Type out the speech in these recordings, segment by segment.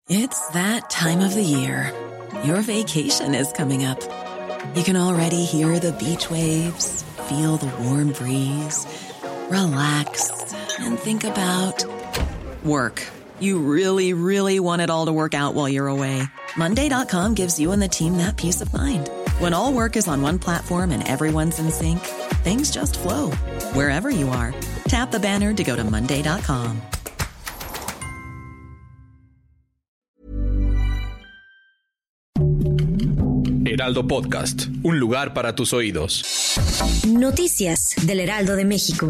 It's that time of the year. Your vacation is coming up. You can already hear the beach waves, feel the warm breeze, relax, and think about work. You really, really want it all to work out while you're away. Monday.com gives you and the team that peace of mind. When all work is on one platform and everyone's in sync, things just flow. Wherever you are, tap the banner to go to Monday.com. Heraldo Podcast, un lugar para tus oídos. Noticias del Heraldo de México.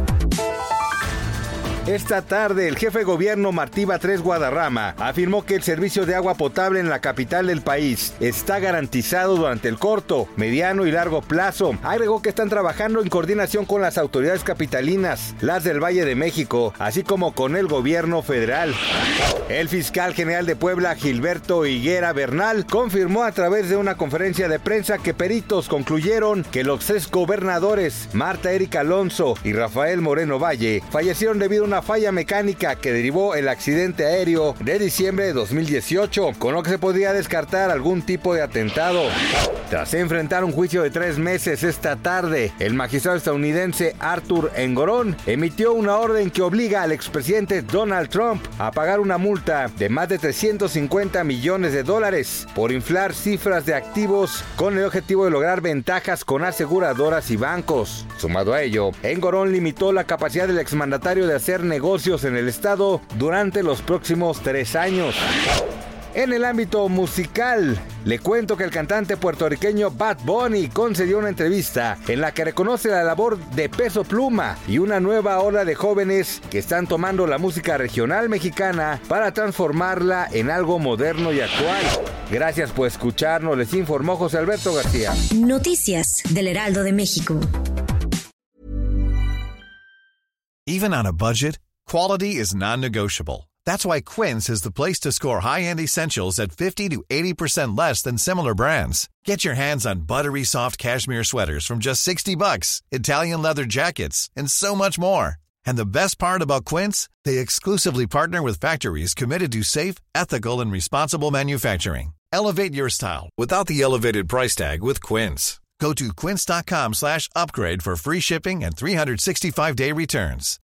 Esta tarde, el jefe de gobierno Martí Batres Guadarrama afirmó que el servicio de agua potable en la capital del país está garantizado durante el corto, mediano y largo plazo. Agregó que están trabajando en coordinación con las autoridades capitalinas, las del Valle de México, así como con el gobierno federal. El fiscal general de Puebla, Gilberto Higuera Bernal, confirmó a través de una conferencia de prensa que peritos concluyeron que los exgobernadores Marta Erika Alonso y Rafael Moreno Valle fallecieron debido a una falla mecánica que derivó el accidente aéreo de diciembre de 2018, con lo que se podría descartar algún tipo de atentado. Tras enfrentar un juicio de 3 meses esta tarde, el magistrado estadounidense Arthur Engoron emitió una orden que obliga al expresidente Donald Trump a pagar una multa de más de $350 millones por inflar cifras de activos con el objetivo de lograr ventajas con aseguradoras y bancos. Sumado a ello, Engoron limitó la capacidad del exmandatario de hacer negocios en el estado durante los próximos 3 años. En el ámbito musical, le cuento que el cantante puertorriqueño Bad Bunny concedió una entrevista en la que reconoce la labor de Peso Pluma y una nueva ola de jóvenes que están tomando la música regional mexicana para transformarla en algo moderno y actual. Gracias por escucharnos, les informó José Alberto García. Noticias del Heraldo de México. Even on a budget, quality is non-negotiable. That's why Quince is the place to score high-end essentials at 50 to 80% less than similar brands. Get your hands on buttery soft cashmere sweaters from just $60, Italian leather jackets, and so much more. And the best part about Quince, they exclusively partner with factories committed to safe, ethical, and responsible manufacturing. Elevate your style without the elevated price tag with Quince. Go to quince.com/upgrade for free shipping and 365-day returns.